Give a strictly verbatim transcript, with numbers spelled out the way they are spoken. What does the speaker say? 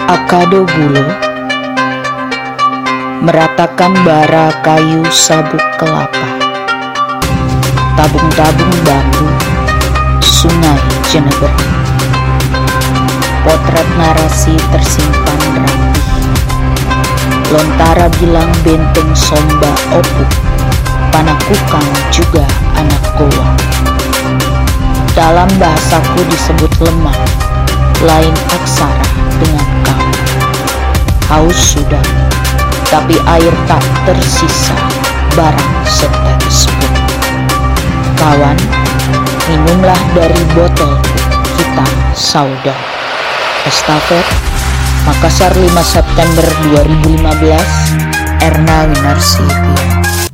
Akado Bulo meratakan bara kayu sabuk kelapa, tabung-tabung bambu, sungai Jeneber. Potret narasi tersimpan rapi, lontara bilang benteng somba opuk, panakukang juga anak goa. Dalam bahasaku disebut lemah, lain aksara dengan kau. Haus sudah, tapi air tak tersisa, barang setetes pun. Kawan, minumlah dari botol, kita saudara. Estafet, Makassar lima September dua ribu lima belas, Erna Winarsi.